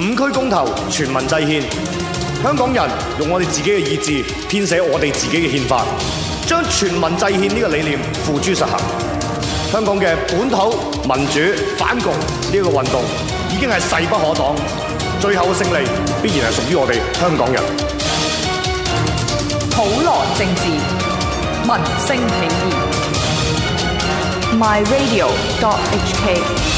區公投，全民制憲，香港人用我哋自己嘅意志編寫我哋自己嘅憲法，將全民制憲呢個理念付諸實行。香港嘅本土民主反共呢個運動已經係勢不可擋，最後嘅勝利必然係屬於我哋香港人。 普羅政治，民聲起義。myradio.hk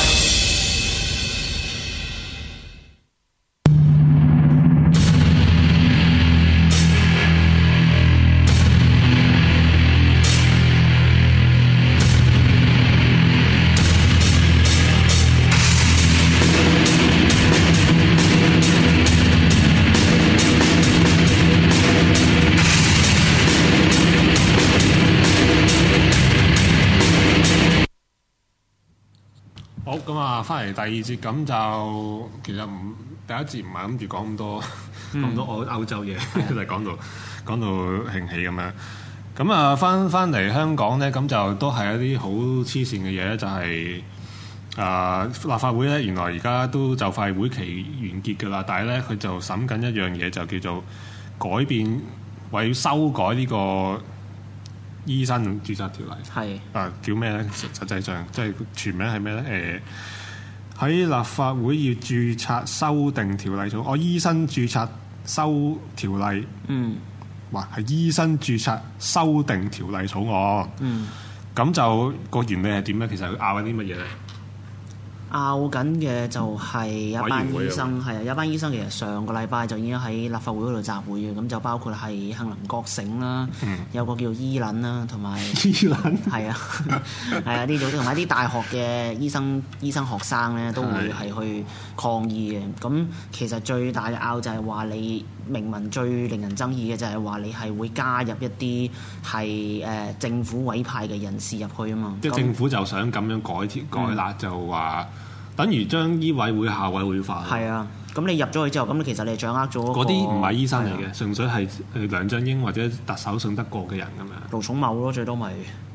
翻嚟第二節，咁就其實第一節唔係諗住講咁多歐洲嘢，就講到興起咁樣。咁啊，翻嚟香港咧，咁就都係一啲好黐線嘅嘢咧，就係立法會咧，原來而家都就快會期完結㗎啦，但係咧佢就審緊一樣嘢，就叫做改變，為修改呢個醫生註冊條例。係叫咩咧？實際上即係全名係咩咧？喺立法會要註冊修訂條例草，醫生註冊修條例，係醫生註冊修訂條例草案。咁就個原理係點咧？其實佢拗緊啲乜嘢咧？ 拗緊嘅就係一班醫生，係啊，一班醫生其實上個禮拜就已經喺立法會嗰度集會嘅，咁就包括係杏林覺醒啦，有個叫醫撚啦，同埋醫撚係啊，係啊，呢度同埋啲大學嘅醫生學生咧都會係去抗議嘅。咁其實最大嘅拗就係話你明文最令人爭議嘅就係話你係會加入一啲係政府委派嘅人士入去啊嘛。即係政府就想咁樣改啦，就話。等於將醫委會校委會化。 係啊，咁你入咗去之後，咁其實你係掌握咗嗰啲唔係醫生嚟嘅，純粹係梁振英或者特首信得過嘅人咁樣。 盧寵茂咯，最多咪。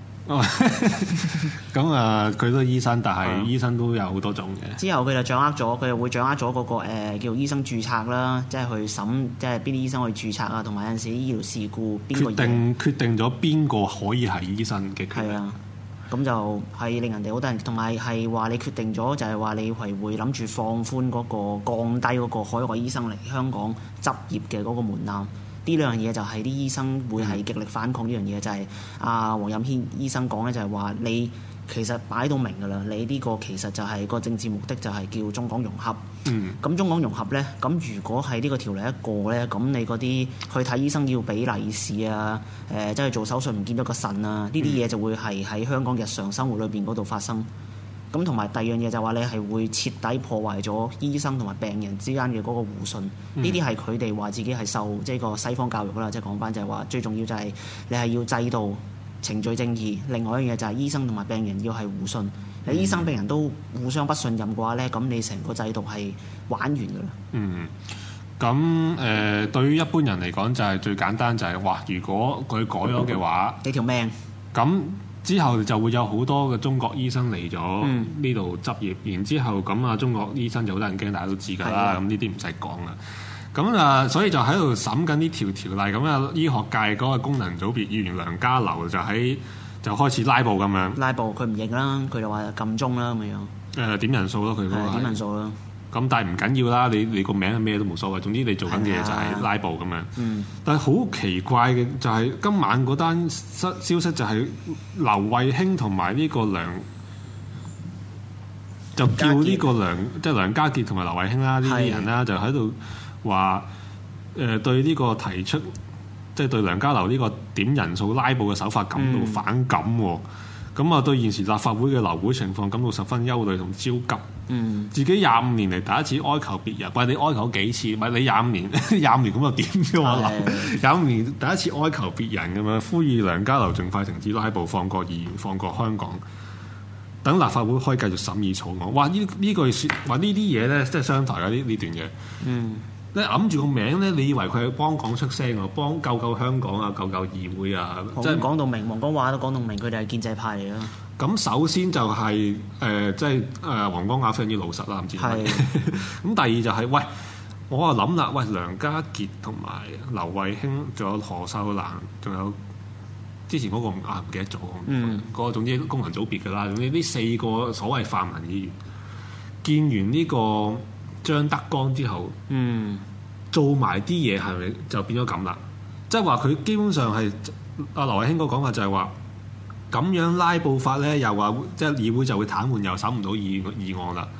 咁啊，佢都係醫生，但係醫生都有好多種嘅。 之後佢就掌握咗，佢又會掌握咗嗰個叫醫生註冊啦，即係去審，即係邊啲醫生去註冊啊，同埋有陣時醫療事故邊個決定咗邊個可以係醫生嘅權力。係啊。 咁就係令人哋好多人，同埋係話你決定咗，就係話你係會諗住放寬嗰個降低嗰個海外醫生嚟香港執業嘅嗰個門檻。呢兩樣嘢就係啲醫生會係極力反抗呢樣嘢，就係黃任軒醫生講咧，就係話你其實擺到明㗎啦，你呢個其實就係個政治目的，就係叫中港融合。咁中港融合咧，咁如果係呢個條例一過咧，咁你嗰啲去睇醫生要俾利是啊，即係做手術唔見咗個腎啊，呢啲嘢就會係喺香港日常生活裏邊嗰度發生。咁同埋第二樣嘢就係話你係會徹底破壞咗醫生同埋病人之間嘅嗰個互信。呢啲係佢哋話自己係受即係個西方教育啦，即係講翻就係話最重要就係你係要制度程序正義。另外一樣嘢就係醫生同埋病人要係互信。你醫生病人都互相不信任嘅話咧，咁你成個制度係玩完㗎啦。 咁對於一般人嚟講就係最簡單就係如果佢改咗嘅話， 你條命。咁之後就會有好多嘅中國醫生嚟咗呢度執業，然之後咁啊中國醫生就好得人驚，大家都知㗎啦。咁呢啲唔使講啦。咁所以就喺度審緊呢條條例。咁啊，醫學界嗰個功能組別議員梁家騮就開始拉布咁樣。 拉布佢唔認啦，佢就話撳鐘啦咁樣。 點人數咯，佢嗰個點人數啦。 咁但係唔緊要啦，你個名係咩都冇所謂，總之你做緊嘅嘢就係拉布咁樣。但係好奇怪嘅就係今晚嗰單消息就係劉慧卿同埋呢個就叫呢個即係梁家傑同埋劉慧卿啦，呢啲人啦就喺度話對呢個提出即係對梁家騮呢個點人數拉布嘅手法感到反感喎。咁啊，對現時立法會嘅流會情況感到十分憂慮同焦急。自己25年嚟第一次哀求別人，喂，你哀求幾次？喂，你25年咁又點啫？我諗25年第一次哀求別人咁樣，呼籲梁家騮盡快停止拉布，放過議員，放過香港，等立法會可以繼續審議草案。哇！呢句説話呢啲嘢咧，即係商台嘅呢段嘢。 你揞住個名咧，你以為佢係幫港出聲啊，幫救香港啊，救議會啊，即係講到明，黃光華都講到明，佢哋係建制派嚟啦。 咁首先就係即係黃光亞非常之老實啦，唔知係。咁第二就係喂，我啊諗啦，喂梁家傑同埋劉慧卿，仲有何秀蘭，仲有之前嗰個唔記得咗，嗰個總之功能組別㗎啦。總之呢4個所謂泛民議員，見完呢個張德江之後，做埋啲嘢係咪就變咗咁啦？即係話佢基本上係阿劉慧卿個講法就係話。咁樣拉布法咧，又話即係議會就會癱瘓，又審唔到議案啦。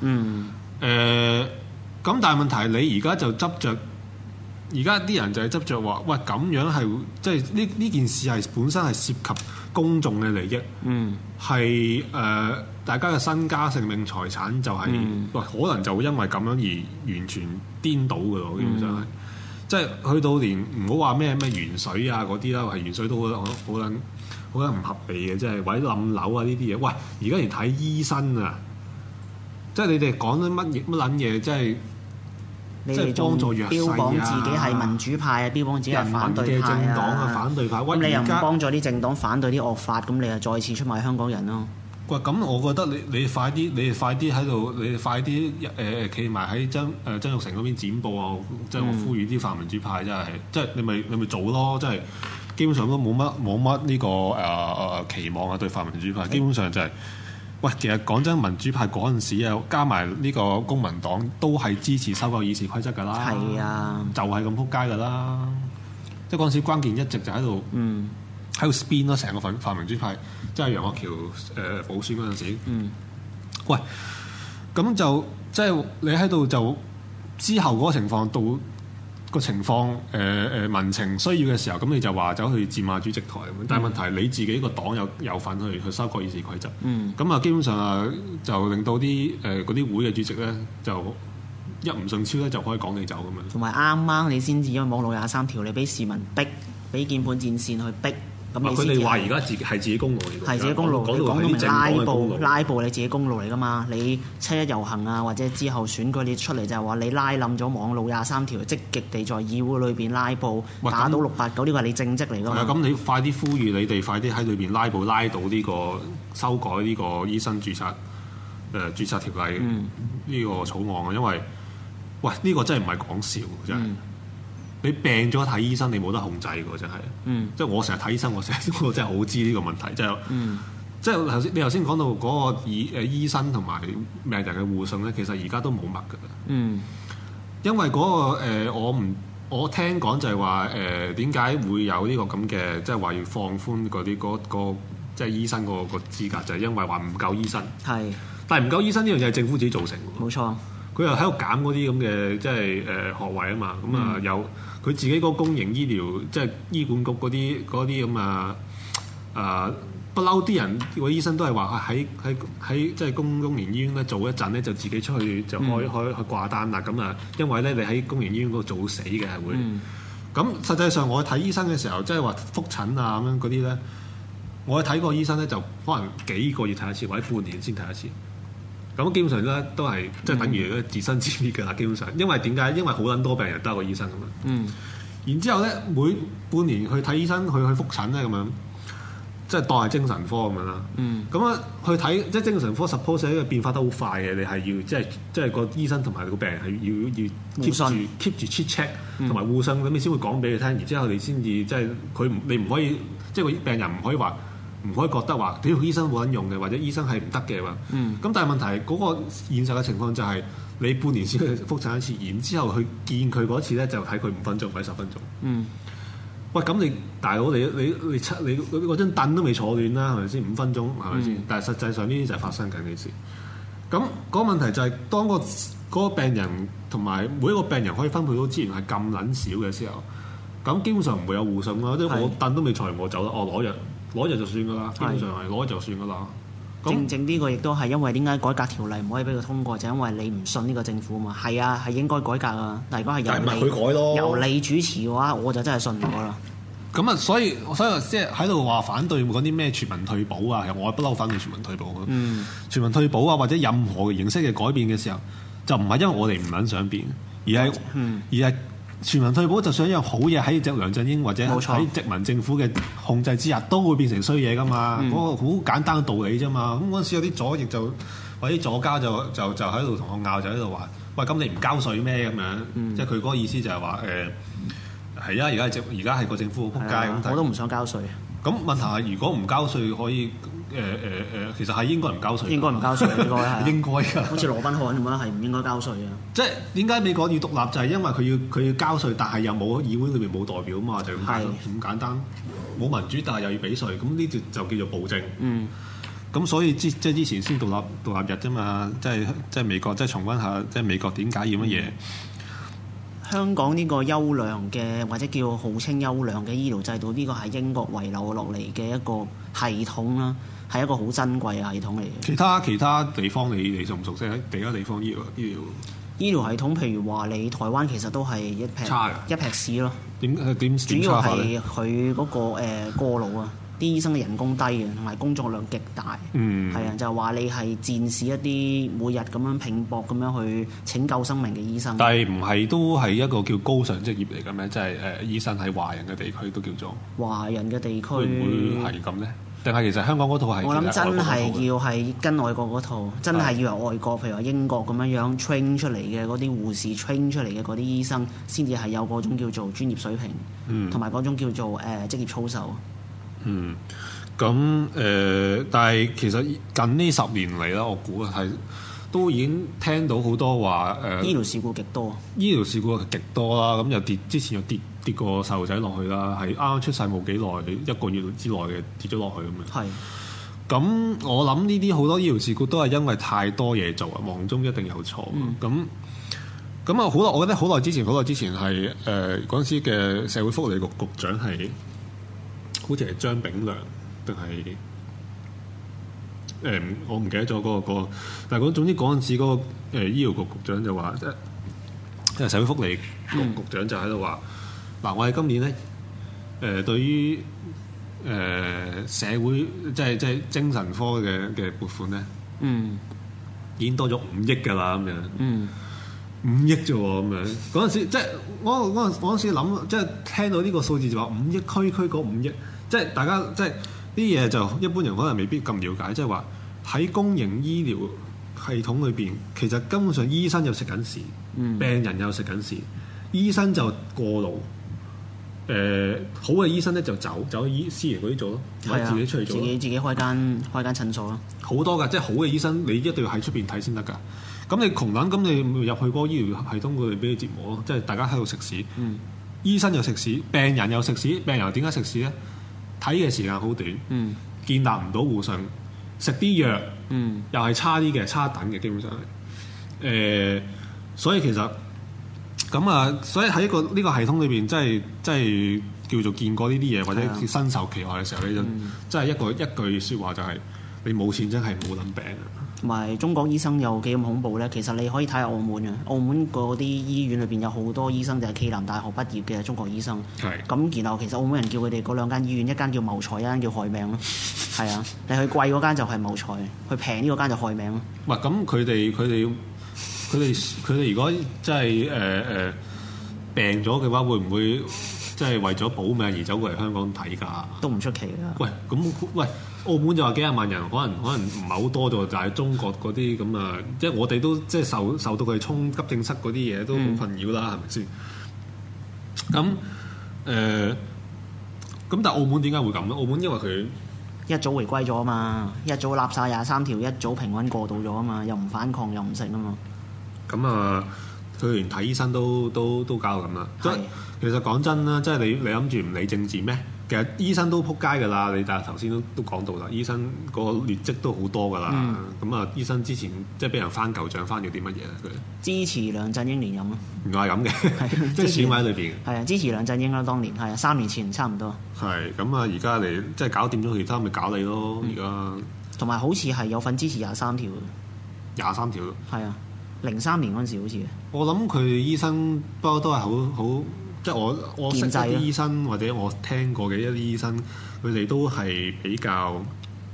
咁但係問題係你而家就執着，而家啲人就係執着話，喂咁樣係即係呢件事係本身係涉及公眾嘅利益，係大家嘅身家性命財產就係喂可能就會因為咁樣而完全顛倒嘅咯，基本上係即係去到連唔好話咩鉛水啊嗰啲啦，係鉛水都好撚唔合理嘅，即係或者冧樓啊呢啲嘢。喂，而家連睇醫生啊，即係你哋講緊乜撚嘢，即係你哋幫助弱勢啊，標榜自己係民主派啊，標榜自己係反對派政黨啊，反對派。 咁你又唔幫助啲政黨反對啲惡法，咁你又再次出賣香港人咯。 喂，咁我覺得你哋快啲喺度，你哋快啲企埋喺曾鈺成嗰邊剪報啊！即係我呼籲啲泛民主派真係，即係你咪做咯，即係。基本上都冇乜呢個期望啊，對泛民主派基本上就係、喂，其實講真，民主派嗰陣時啊，加埋呢個公民黨都係支持修改議事規則㗎啦， 係啊， 就係咁撲街㗎啦。即係嗰陣時關鍵一直就喺度喺度 spin 咯，成個泛民主派，即係楊岳橋補選嗰陣時，喂，咁就即係你喺度就之後嗰個情況到。個情況民情需要嘅時候，咁你就話走去佔下主席台咁。但係問題你自己個黨有份去修改議事規則，咁基本上啊就令到啲嗰啲會嘅主席咧就一唔順超咧就可以趕你走咁樣。 同埋啱啱你先至因為網絡23條，你俾市民逼，俾鍵盤戰線去逼。 佢哋話而家係自己公路嚟㗎， 係自己公路。你講到明拉布你自己公路嚟㗎嘛？你7·1遊行啊，或者之後選舉你出嚟就係話你拉冧咗網絡23條，積極地在議會裏邊拉布，打到689，呢個係你政績嚟㗎嘛？ 係啊，咁你快啲呼籲你哋快啲喺裏邊拉布，拉到呢個修改呢個醫生註冊條例呢個草案啊！因為喂呢個真係唔係講笑，真係。你病咗睇醫生，你冇得控制㗎，真係。即係我成日睇醫生，我真係好知呢個問題，即係你頭先講到嗰個醫生同埋病人嘅互信咧，其實而家都冇乜㗎。因為嗰個我聽講就係話點解會有呢個咁嘅，即係話要放寬嗰啲嗰即係醫生個資格，就係因為話唔夠醫生。係，但係唔夠醫生呢樣嘢係政府自己造成㗎。冇錯。佢又喺度減嗰啲咁嘅即係學位啊嘛，咁啊有佢自己嗰個公營醫療即係醫管局嗰啲咁不嬲啲人個醫生都係話喺即係公營醫院咧做一陣咧就自己出去就開掛單啦，咁啊因為咧你喺公營醫院嗰度做死嘅係會，咁實際上我去睇醫生嘅時候即係話覆診啊咁樣嗰啲咧，我去睇個醫生咧就可能幾個月睇一次或者半年先睇一次。咁基本上咧都係即係等於自生自滅㗎啦，基本上，因為點解？因為好撚多病人得一個醫生咁樣。然之後咧，每半年去睇醫生，去覆診咧咁樣，即係當係精神科咁樣啦。咁啊去睇即係精神科 suppose 呢個變化得好快嘅，你係要即係個醫生同埋個病人係要 keep 住 check check 同埋互信咁，你先會講俾佢聽。然之後你先至即係你唔可以即係個病人唔可以話。唔可以覺得話屌醫生冇撚用嘅，或者醫生係唔得嘅嘛。咁但係問題係嗰個現實嘅情況就係你半年先去覆診一次，然之後去見佢嗰次咧就睇佢5分鐘或者10分鐘。喂，咁你大佬你嗰張凳都未坐暖啦，係咪先5分鐘係咪先？但係實際上呢啲就係發生緊嘅事。咁嗰個問題就係當嗰個病人同埋每一個病人可以分配到資源係咁撚少嘅時候，咁基本上唔會有互信啦。即係我凳都未坐完我走啦，我攞日就算㗎啦，基本上係攞日就算㗎啦。 正呢個亦都係因為點解改革條例唔可以俾佢通過，就因為你唔信呢個政府啊嘛。係啊，係應該改革㗎。但如果係由你主持嘅話，我就真係信唔過啦。 咁啊，所以即係喺度話反對嗰啲咩全民退保啊，我不嬲反對全民退保嘅。全民退保啊，或者任何形式嘅改變嘅時候，就唔係因為我哋唔撚想變， 而係全民退保就想一樣好嘢喺隻梁振英或者喺殖民政府嘅控制之下，都會變成衰嘢噶嘛。嗰個好簡單嘅道理啫嘛。咁嗰陣時有啲左翼或者左膠就喺度同我拗，就喺度話：喂，咁你唔交稅咩？咁樣，即係佢嗰個意思就係話係啊，而家係個政府好撲街咁。 我都唔想交稅。 咁問題係，如果唔交稅可以其實係應該唔交稅。應該唔交稅，應該係應該㗎。 好似羅賓漢咁樣係唔應該交稅嘅。 即係點解美國要獨立？就係因為佢要交稅，但係又冇議會裏邊冇代表嘛，就咁簡單。冇民主，但係又要俾稅，咁呢啲就叫做暴政。咁所以即係之前先獨立日啫嘛，即係美國即係重溫下，即係美國點解要乜嘢？ 香港呢個優良嘅或者叫號稱優良嘅醫療制度，呢個係英國遺留落嚟嘅一個系統啦，係一個好珍貴嘅系統嚟嘅。 其他地方你熟唔熟悉？其他地方醫療系統，譬如話你台灣其實都係一劈屎咯。點主要係佢嗰個過勞啊，啲醫生嘅人工低嘅，同埋工作量極大。係啊，就係話你係戰士一啲每日咁樣拼搏咁樣去拯救生命嘅醫生。但係唔係都係一個叫高尚職業嚟嘅咩？即係醫生喺華人嘅地區都叫做華人嘅地區，會唔會係咁咧？定係其實香港嗰套係我諗真係要係跟外國嗰套，真係要由外國，譬如話英國咁樣 train 出嚟嘅嗰啲護士 train 出嚟嘅嗰啲醫生，先至係有嗰種叫做專業水平，同埋嗰種叫做職業操守。但係其實近呢10年嚟啦，我估係都已經聽到好多話醫療事故極多，極多啦。咁又之前又跌個細路仔落去啦，係啱啱出世冇幾耐，1個月之內嘅跌咗落去咁樣。係。咁我諗呢啲好多醫療事故都係因為太多嘢做啊，忙中一定有錯。咁啊好耐，我覺得好耐之前係嗰陣時嘅社會福利局局長係好似係張炳良定係我唔記得咗嗰個，但係總之嗰陣時嗰個醫療局局長就話，即係社會福利局局長就喺度話，嗱，我哋今年咧對於社會即係精神科嘅撥款咧，已經多咗5億㗎啦咁樣，5億啫喎咁樣。嗰陣時即係我嗰陣時諗，即係聽到呢個數字就話5億區嗰5億，即係大家即係啲嘢就一般人可能未必咁了解，即係話喺公營醫療系統裏邊，其實根本上醫生又食緊屎，病人又食緊屎，醫生就過勞。好嘅醫生咧就走去私營嗰啲做咯，或者自己出嚟做，自己開間診所咯。好多㗎，即係好嘅醫生，你一定要喺出邊睇先得㗎。咁你窮撚，咁你咪入去嗰個醫療系統嗰度俾你折磨咯。即係大家喺度食屎，醫生又食屎，病人又食屎。病人點解食屎咧？睇嘅時間好短，建立唔到互信，食啲藥，又係差啲嘅，差等嘅，基本上係。所以其實。咁啊，所以喺呢個系統裏邊，真係叫做見過呢啲嘢，或者身受其害嘅時候，你就真係一句説話就係、是、你冇錢真係冇撚病啊！同埋中國醫生又幾咁恐怖咧？其實你可以睇下澳門嘅，澳門嗰啲醫院裏邊有好多醫生就係暨南大學畢業嘅中國醫生。係。咁然後其實澳門人叫佢哋嗰2間醫院，一間叫謀財，一間叫害命咯。係啊，你去貴嗰間就係謀財，去平呢個間就害命咯。喂，咁佢哋如果真係病咗嘅話，會唔會即係為咗保命而走過嚟香港睇㗎？都唔出奇㗎。喂，澳門就話幾廿萬人，可能唔係好多啫，就係中國嗰啲咁啊，即係我哋都即係受到佢衝急症室嗰啲嘢都好困擾啦，係咪先？咁但係澳門點解會咁咧？澳門因為佢一早回歸咗啊嘛，一早立晒23條，一早平穩過渡咗啊嘛，又唔反抗又唔食啊嘛。咁啊，佢連睇醫生都搞到咁啦。其實講真啦，即係你諗住唔理政治咩？其實醫生都撲街㗎啦。你但係頭先都講到啦，醫生個劣績都好多㗎啦。咁啊，醫生之前即係俾人翻舊帳，翻咗啲乜嘢咧？佢支持梁振英連任咯。原來係咁嘅，即係選委裏邊。係啊，支持梁振英啦，當年係啊，3年前差唔多。係咁啊，而家你即係搞掂咗其他，咪搞你咯。而家同埋好似係有份支持23條。23條。係啊。03年嗰陣時好似，我諗佢醫生不過都係好，即係我識啲醫生或者我聽過嘅一啲醫生，佢哋都係比較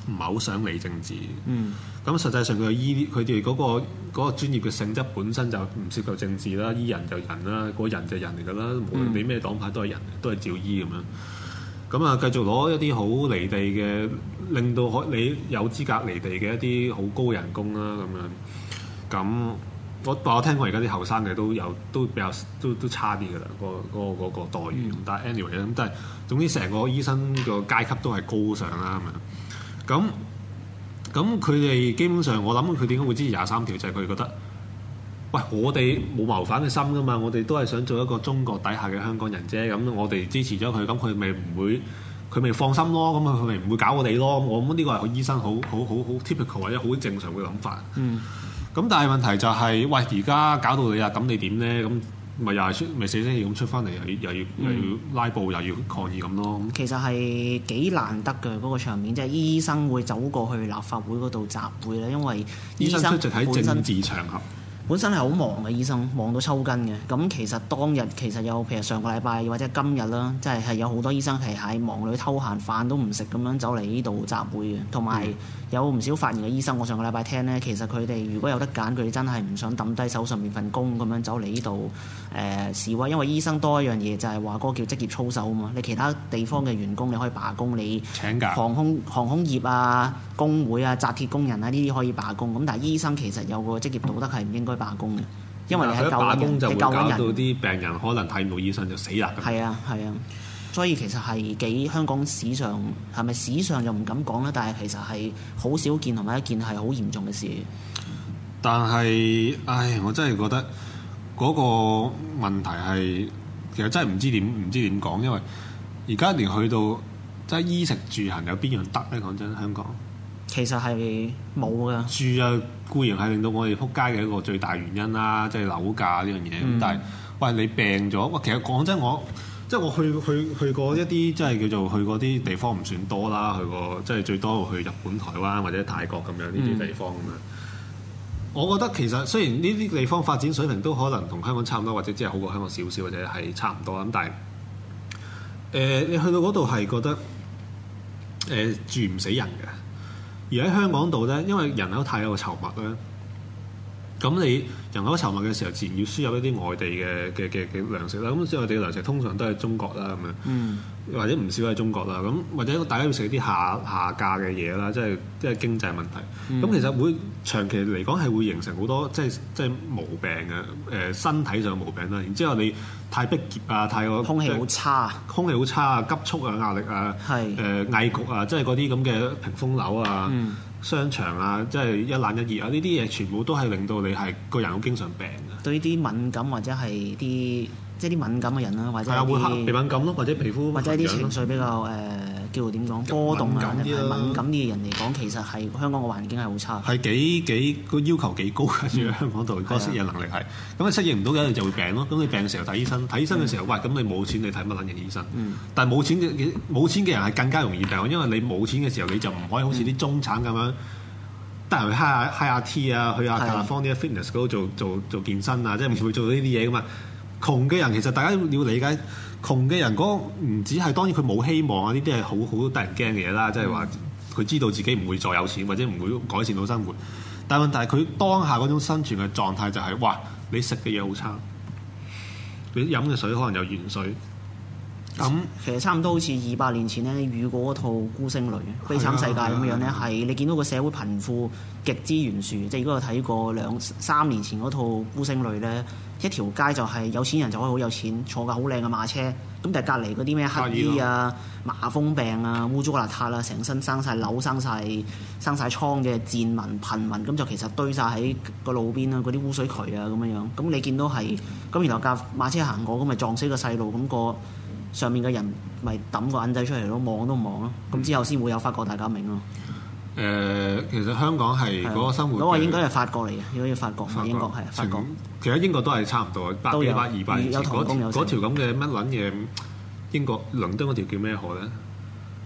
唔係好想理政治。咁實際上佢哋嗰個專業嘅性質本身就唔涉及政治啦，醫人就人啦，個人就人嚟㗎啦，無論你咩黨派都係人，都係照醫咁樣。咁啊，繼續攞一啲好離地嘅，令到你有資格離地嘅一啲好高人工啦咁樣。咁我聽過而家啲後生嘅都比較都差啲㗎啦，嗰個待遇。但係 anyway 咁，但係總之成個醫生個階級都係高尚啦咁樣。咁佢哋基本上，我諗佢點解會支持23條，就係佢哋覺得，喂，我哋冇謀反嘅心㗎嘛，我哋都係想做一個中國底下嘅香港人啫。咁我哋支持咗佢，咁佢咪唔會，佢咪放心咯。咁佢咪唔會搞我哋咯。我諗呢個係醫生好 typical 或者好正常嘅諗法。咁但係問題就係，喂，而家搞到你啦，咁你點咧？咁咪又係咪死聲咁出翻嚟，又要拉布，又要抗議咁咯。 其實係幾難得嘅嗰個場面，即係醫生會走過去立法會嗰度集會咧，因為醫生出席喺政治場合。 本身係好忙嘅醫生，忙到抽筋嘅。咁其實當日其實有譬如上個禮拜或者今日啦，即係有好多醫生係喺忙裏偷閒，飯都唔食咁樣走嚟呢度集會嘅。同埋有唔少發言嘅醫生，我上個禮拜聽呢，其實佢哋如果有得揀，佢哋真係唔想抌低手上面份工咁樣走嚟呢度示威，因為醫生多一樣嘢就係話嗰個叫職業操守啊嘛。你其他地方嘅員工你可以罷工，你請假航空業啊、工會啊、紮鐵工人啊呢啲可以罷工。咁但係醫生其實有個職業道德係唔應該罷工嘅，因為你係罷工就會搞到啲病人可能睇唔到醫生就死啦。 係啊，所以其實係香港史上係咪史上就唔敢講啦，但係其實係好少見同埋一件係好嚴重嘅事。 但係，我真係覺得嗰個問題係其實真係唔知點講，因為而家連去到即係衣食住行有邊樣得咧？講真，香港其實係冇㗎。 住啊固然係令到我哋撲街嘅一個最大原因啦，即係樓價呢樣嘢。咁但係，喂，你病咗，喂，其實講真我去過一啲即係叫做去過啲地方唔算多啦，去過即係最多去日本、台灣或者泰國咁樣呢啲地方咁樣。我覺得其實雖然呢啲地方發展水平都可能同香港差唔多，或者只係好過香港少少，或者係差唔多咁，但係你去到嗰度係覺得住唔死人嘅。而喺香港度咧，因為人口太有籌碼咧，咁你人口籌碼嘅時候，自然要輸入一啲外地嘅糧食啦。咁所以我哋嘅糧食通常都係中國啦，咁樣，或者唔少係中國啦。咁或者大家要食啲下價嘅嘢啦，即係經濟問題。咁其實會長期嚟講係會形成好多即係毛病嘅身體上嘅毛病啦。然之後你太逼仄啊，太過空氣好差啊， 急促啊，壓力啊，翳焗啊，即係嗰啲咁嘅屏風樓啊。商場啊，即係一冷一熱啊，呢啲嘢全部都係令到你係個人好經常病嘅。 對啲敏感或者係即係啲敏感嘅人啦，或者係會鼻敏感咯，或者皮膚或者啲情緒比較叫做點講波動啊，敏感啲嘅人嚟講，其實係香港嘅環境係好差。 係幾個要求幾高嘅，住喺香港度嗰個適應能力係。咁你適應唔到嘅，你就會病咯。咁你病嘅時候睇醫生嘅時候，喂，咁你冇錢你睇乜撚嘢醫生？但係冇錢嘅人係更加容易病，因為你冇錢嘅時候你就唔可以好似啲中產咁樣得閒去 high 下 T 啊，去下 California Fitness 嗰度做健身啊，即係唔會做呢啲嘢噶嘛。窮嘅人其實大家要理解，窮嘅人嗰唔止係當然佢冇希望啊，呢啲係好得人驚嘅嘢啦，即係話佢知道自己唔會再有錢或者唔會改善到生活。但係問題係佢當下嗰種生存嘅狀態就係，哇！你食嘅嘢好差，你飲嘅水可能有鉛水。咁其實差唔多好似200年前咧，遇過嗰套《孤星淚》《悲慘世界》咁樣咧，係你見到個社會貧富極之懸殊。即係如果有睇過2-3年前嗰套《孤星淚》咧，一條街就係有錢人就可以好有錢，坐架好靚嘅馬車。咁但係隔離嗰啲咩乞衣啊、麻風病啊、污糟邋遢啦，成身生晒瘤、生晒瘡嘅賤民貧民，咁就其實堆晒喺個路邊啊，嗰啲污水渠啊咁樣。咁你見到係咁，然後架馬車行過，咁咪撞死個細路，咁個上面嘅人咪抌個銀仔出嚟咯，望都唔望咯。咁之後先會有法國大革命咯。 其實香港係嗰個生活， 嗰個應該係法國嚟嘅，如果要法國，英國係法國。其實英國都係差唔多，100、200年前嗰條咁嘅乜撚嘢，英國倫敦嗰條叫咩河咧？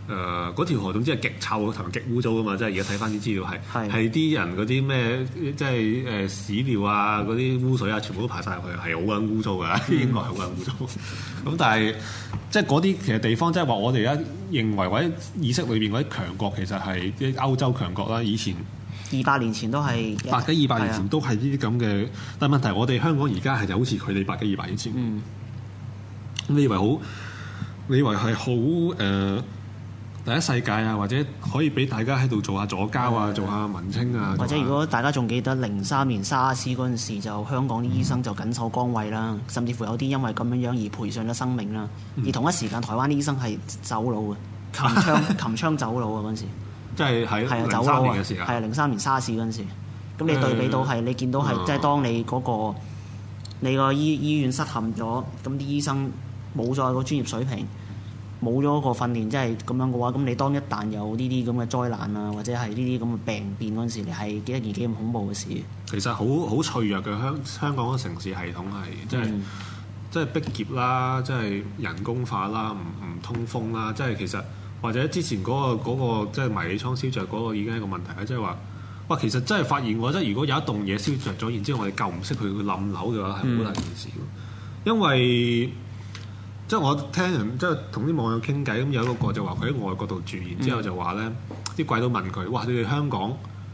嗰條河總之係極臭同埋極污糟噶嘛，即係而家睇翻啲資料係啲人嗰啲咩，即係屎尿啊嗰啲污水啊，全部都排晒入去，係好撚污糟㗎，英國係好撚污糟。咁但係即係嗰啲其實地方，即係話我哋而家認為或者意識裏邊嗰啲強國，其實係啲歐洲強國啦，以前 200年前都係 200年前都係呢啲咁嘅，但係問題我哋香港而家係就好似佢哋200年前，你以為係好第一世界啊，或者可以俾大家喺度做下左膠啊，做下文青啊， 或者如果大家仲記得03年沙士嗰陣時，就香港啲醫生就緊守崗位啦，甚至乎有啲因為咁樣而賠上咗生命啦。而同一時間，台灣啲醫生係走佬嘅，擒槍走佬啊嗰陣時，即係喺03年嘅時候，係啊03年沙士嗰陣時。咁你對比到係你見到係即係當你嗰個你個醫院失陷咗，咁啲醫生冇咗個專業水平。冇咗個訓練，即係咁樣嘅話，咁你當一旦有呢啲咁嘅災難啊，或者係呢啲咁嘅病變嗰陣時，你係一件幾咁恐怖嘅事。其實好脆弱嘅香港嘅城市系統係即係逼仄啦，即係人工化啦，唔通風啦，即係其實或者之前嗰個即係迷你倉燒着嗰個已經係一個問題啦，即係話哇，其實真係發現我即係如果有一棟嘢燒着咗，然之後我哋救唔識佢冧樓嘅話，係好大件事。因為即係我聽人即係同啲網友傾偈，咁有一個就話佢喺外國度住，然之後就話咧啲鬼都問佢：哇！你哋香港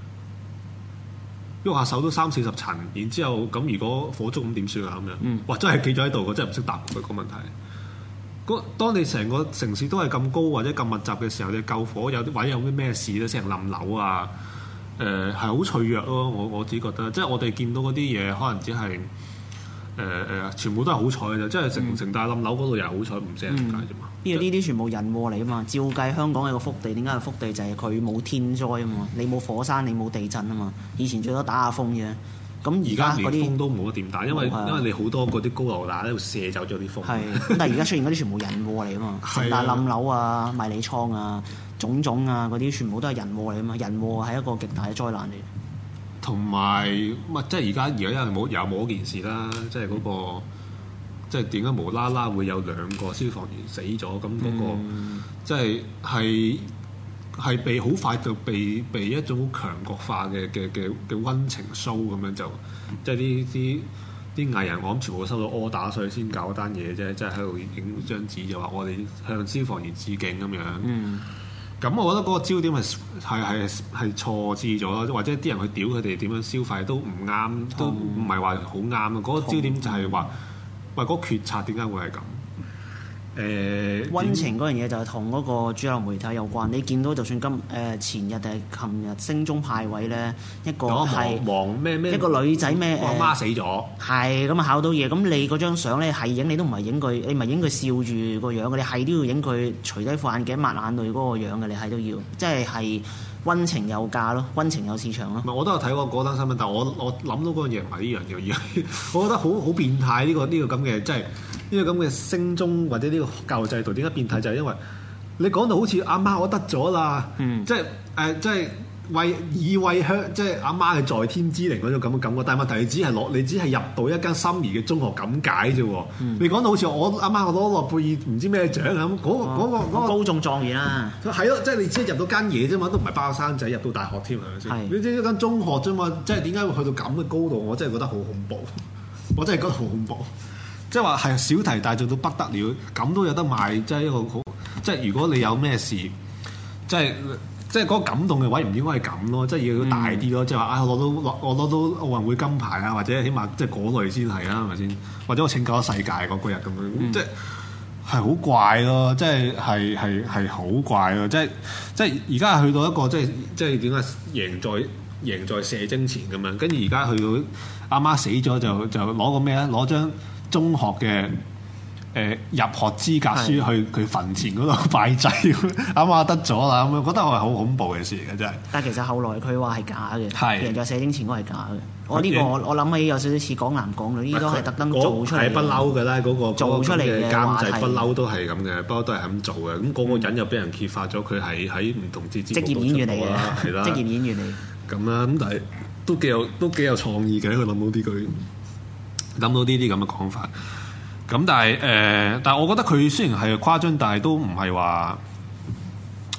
喐下手都30-40層，然之後咁如果火燭咁點算啊？咁樣哇！真係企咗喺度，我真係唔識答佢個問題。當你成個城市都係咁高或者咁密集嘅時候，你救火有或者有啲咩事咧，成冧樓啊，係好脆弱咯。我自己覺得，即係我哋見到嗰啲嘢，可能只係。全部都係好彩嘅啫，即係成大冧樓嗰度又係好彩，唔死人街啫嘛。呢啲全部人禍嚟啊嘛！照計香港係個福地，點解係福地？就係佢冇天災啊嘛，你冇火山，你冇地震啊嘛。以前最多打下風啫。咁而家嗰啲風都冇得點打，因為你好多嗰啲高樓大廈喺度射走咗啲風。係，但係而家出現嗰啲全部人禍嚟啊嘛，成大冧樓啊、迷你倉啊、種啊嗰啲，全部都係人禍嚟啊嘛。人禍係一個極大嘅災難嚟。同埋即係而家因為冇嗰件事啦，即係嗰個即係點解無啦啦會有2個消防員死咗？咁嗰個即係被好快就被一種強國化嘅溫情 show 咁樣就即係啲藝人我諗全部收到 order，所以先搞單嘢啫，即係喺度影張紙就話我哋向消防員致敬咁樣。咁我覺得嗰個焦點係錯置咗啦，或者啲人去屌佢哋點樣消費都唔啱，都唔係話好啱啊！嗰個焦點就係話，喂，嗰個決策點解會係咁？溫情嗰樣嘢就係同嗰個主流媒體有關。你見到就算前日定係琴日升中派位咧，一個係一個女仔咩？我媽死咗，係咁啊考到嘢。咁你嗰張相咧係影你都唔係影佢，你唔係影佢笑住個樣嘅，你係都要影佢除低副眼鏡抹眼淚嗰個樣嘅，你係都要，即係溫情有價咯，溫情有市場咯。唔係，我都有睇過嗰單新聞，但係我諗到嗰樣嘢唔係呢樣嘢，而我覺得好變態呢個咁嘅，即係呢個咁嘅升中或者呢個教育制度點解變態？就係因為你講到好似阿媽我得咗啦，即係以為香，即係阿媽係在天之靈嗰種咁嘅感覺。但係問題你只係入到一間心儀嘅中學咁解啫。你講到好似我阿媽我攞諾貝爾唔知咩獎咁，嗰個高中狀元啦。係咯，即係你只係入到間嘢啫嘛，都唔係包生仔入到大學添，係咪先？你只係一間中學啫嘛，即係點解會去到咁嘅高度？我真係覺得好恐怖，我真係覺得好恐怖。即係話係小題大做到不得了，咁都有得賣，即係一個好。即係如果你有咩事，即係嗰個感動嘅位唔應該係咁咯，即係要大啲咯。即係話我攞到奧運會金牌啊，或者起碼即係嗰類先係啦，係咪先？或者我拯救咗世界嗰日咁樣，即係好怪咯，即係好怪咯，即係而家去到一個即係點解贏在射精前咁樣，跟住而家去到阿媽死咗就攞個咩咧？攞張中學嘅入學資格書去佢墳前嗰度拜祭，啱啱得咗啦咁樣，覺得我係好恐怖嘅事嚟嘅真係。但係其實後來佢話係假嘅，贏在射精前嗰係假嘅。我呢個我諗起有少少似港男港女，呢都係特登做出嚟。係不嬲嘅啦，嗰個做出嚟嘅監製不嬲都係咁嘅，不嬲都係咁做嘅。咁嗰個人又俾人揭發咗，佢係喺唔同節目職業演員嚟嘅，係啦，職業演員嚟。咁啦，咁但係都幾有創意嘅，佢諗到呢啲咁嘅講法。咁但係我覺得佢雖然係誇張，但係都唔係話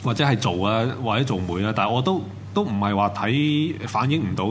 或者係做啊，或者做媒啦，但係我都唔係話睇反映唔到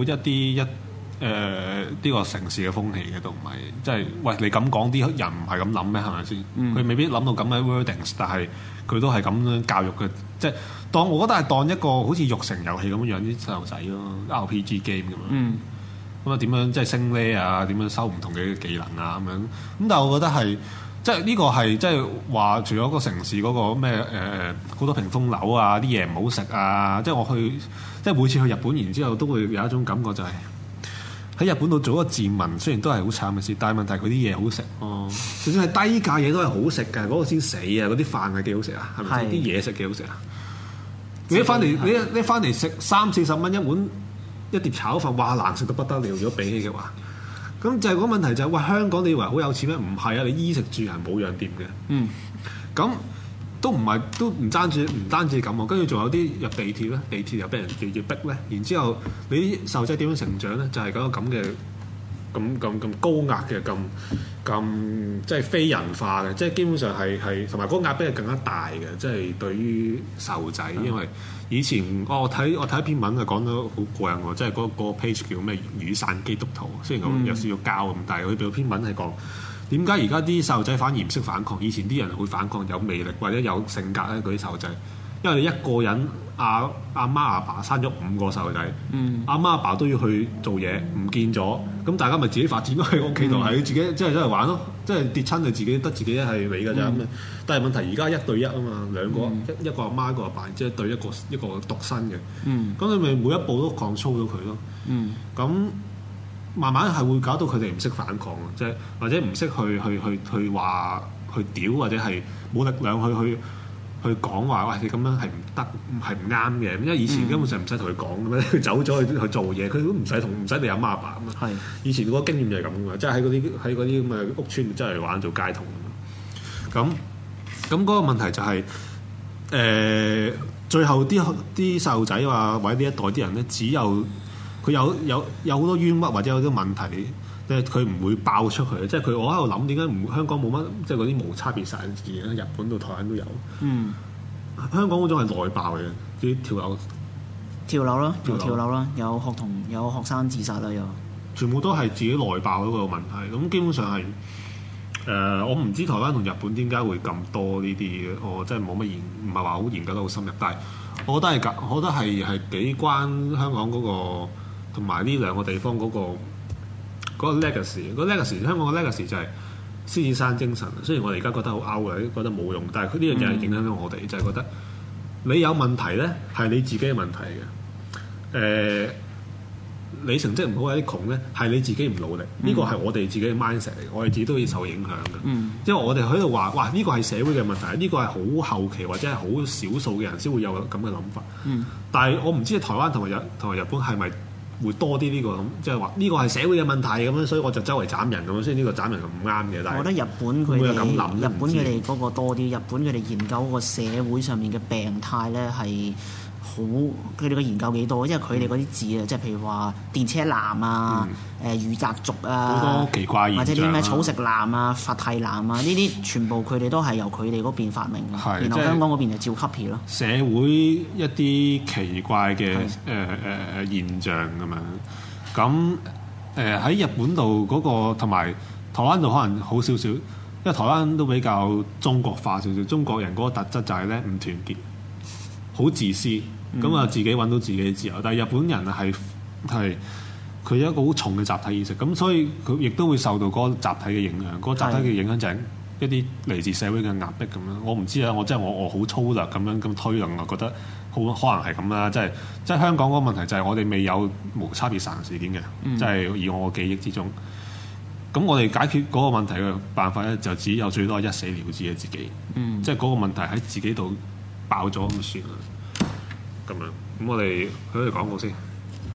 呢個城市嘅風氣嘅，都唔係，即係喂你咁講啲人唔係咁諗咩？係咪先？佢未必諗到咁嘅 wordings， 但係佢都係咁樣教育嘅，即係我覺得係當一個好似育成遊戲咁樣啲細路仔咯 ，RPG game 咁樣。咁啊點樣即係升 level 啊？點樣收唔同嘅技能啊？咁樣咁，但係我覺得係即係呢個係即係話，除咗個城市嗰個咩好多屏風樓啊，啲嘢唔好食啊，即係我去即係每次去日本，然之後都會有一種感覺就係、喺日本度做一個賤民，雖然都係好慘嘅事，但係問題佢啲嘢好食哦。就算係低價嘢都係好食㗎，嗰個先死啊！嗰啲飯係幾好食啊？係咪先？啲嘢食幾好食啊？你一翻嚟，你一翻嚟食30-40蚊一碗一碟炒飯，哇難食到不得了！如果比起嘅話，咁就係個問題就係、喂香港你以為好有錢咩？唔係啊！你衣食住行冇樣掂嘅。咁。都唔單止咁喎，跟住仲有啲入地鐵咧，地鐵又俾人越逼咧，然之後你啲細路仔點樣成長咧？就係嗰個咁嘅咁高壓嘅咁即係非人化嘅，即係基本上係同埋嗰個壓迫係更加大嘅，即係對於細路仔，因為以前我睇一篇文啊講得好過癮喎，即係嗰個 page 叫咩雨傘基督徒，雖然有少少膠咁，但係佢篇文係講。點解而家啲細路仔反而唔識反抗？以前啲人會反抗，有魅力或者有性格咧，嗰啲細路仔。因為你一個人阿媽阿爸生咗5個細路仔，阿媽阿爸都要去做嘢，唔見咗，咁大家咪自己發展咯喺屋企度，係自己即係真係玩咯，即係跌親就自己得自己係你㗎咋咁。但係問題而家1對1啊嘛，兩個一個阿媽一個阿爸，即係對一個獨生嘅，咁你咪每一步都 control 到佢咯。咁慢慢係會搞到佢哋唔識反抗啊，即係或者唔識去話去屌，或者係冇力量去講話，喂你咁樣係唔得，係唔啱嘅。因為以前根本上唔使同佢講嘅咩，佢走咗去做嘢，佢都唔使你阿媽阿爸啊嘛。係以前嗰個經驗就係咁嘅嘛，即係喺嗰啲咁嘅屋村真係玩做街童咁嗰個問題就係最後啲細路仔話或者呢一代啲人咧，只有佢有好多冤屈或者有啲問題，即係佢唔會爆出去。即係我喺度諗點解香港冇乜即係嗰啲無差別殺人事件，日本到台灣都有。香港嗰種係內爆嘅，啲跳樓啦，有學生自殺啦，又全部都係自己內爆嗰個問題。咁基本上係我唔知台灣同日本點解會咁多呢啲嘅，我真係冇乜唔係話好研究得好深入，但係我覺得係幾關香港嗰個。同埋呢兩個地方嗰個 legacy， 香港嘅 legacy 就係獅子山精神。雖然我哋而家覺得好 out 嘅，覺得冇用，但係佢呢樣嘢係影響咗我哋，就係覺得你有問題咧係你自己嘅問題嘅。你成績唔好或者窮咧係你自己唔努力，呢個係我哋自己嘅 mindset 嚟嘅，我哋自己都要受影響嘅。因為我哋喺度話，哇呢個係社會嘅問題，呢個係好後期或者係好少數嘅人先會有咁嘅諗法。但係我唔知台灣同埋日本係咪會多啲呢個咁，即係話呢個係社會嘅問題咁樣，所以我就周圍斬人咁樣。雖然呢個斬人係唔啱嘅，但係我覺得日本佢哋嗰個多啲。日本佢哋研究個社會上面嘅病態咧係好，佢哋個研究幾多？因為佢哋嗰啲字啊，即係譬如話電車男啊、御宅族啊， 好多奇怪現象或者啲咩草食男啊、佛系男啊，呢啲全部佢哋都係由佢哋嗰邊發明嘅。然後香港嗰邊就照 copy 咯。 社會一啲奇怪嘅現象咁樣，咁喺日本度嗰個同埋台灣度可能好少少，因為台灣都比較中國化少少。中國人嗰個特質就係咧唔團結，好自私，咁啊自己揾到自己嘅自由。但係日本人係佢有一個好重嘅集體意識，咁所以佢亦都會受到嗰個集體嘅影響。嗰個集體嘅影響就係一啲嚟自社會嘅壓迫咁樣。我唔知啊，我好粗略咁推論，我覺得可能係咁啦。即係香港嗰個問題就係我哋未有無差別殺人事件嘅，即係以我嘅記憶之中。咁我哋解決嗰個問題嘅辦法咧，就只有最多一死了之嘅自己。即係嗰個問題喺自己度爆咗咁算啦。咁樣，咁我哋去廣告先。